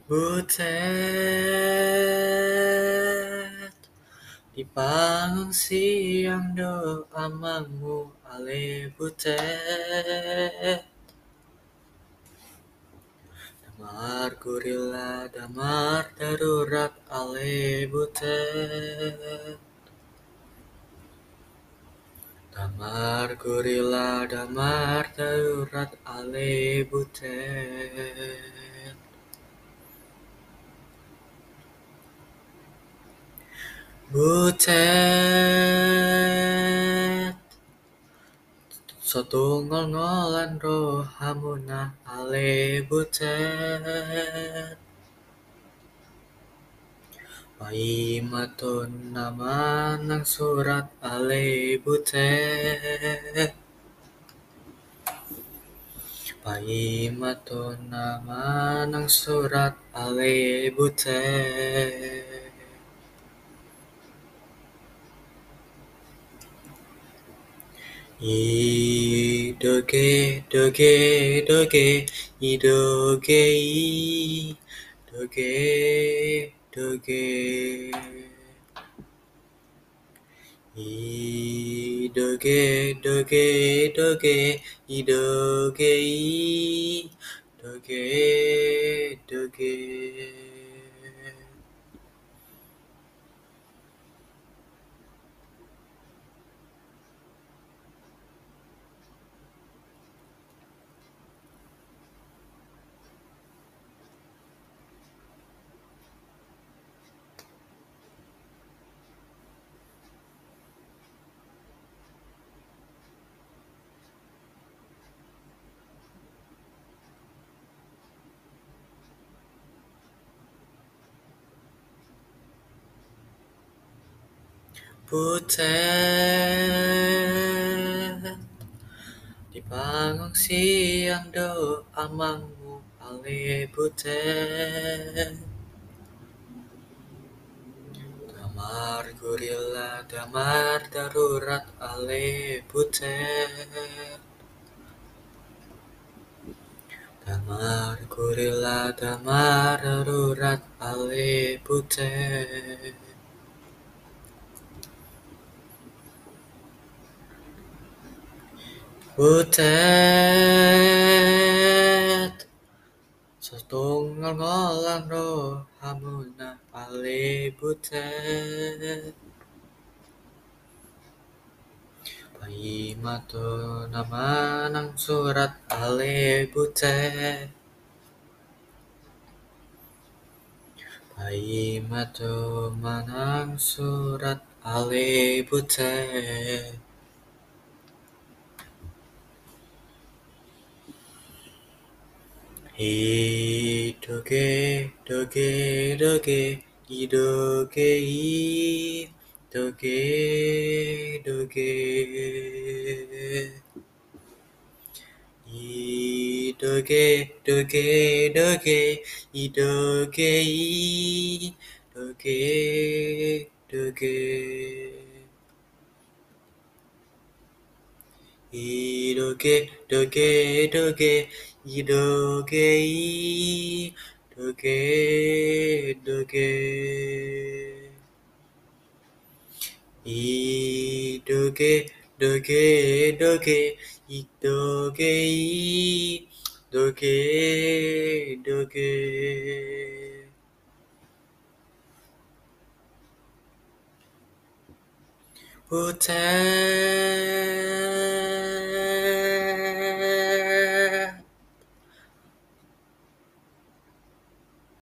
Butet di panggung siang doa mangu ale butet. Damar gurila damar darurat ale butet. Damar gurila damar darurat ale butet. Butet satunggal-ngolan rohamunah ale butet. Paimaton namanang surat ale butet. Paimaton namanang surat ale butet. Idoge doge doge idoge doge doge idoge doge doge idoge doge doge. Butet di panggung siang doa mangu ale butet. Damar gurila damar darurat ale butet. Damar gurila damar darurat ale butet. Butet satunggal-ngolan rohamunah ale butet. Paimaton namanang surat ale butet. Paimaton manang surat ale butet. Idoge doge doge idoge doge doge idoge doge doge idoge doge doge idoge doge doge idoge doge doge idoge doge doge idoge doge doge Butet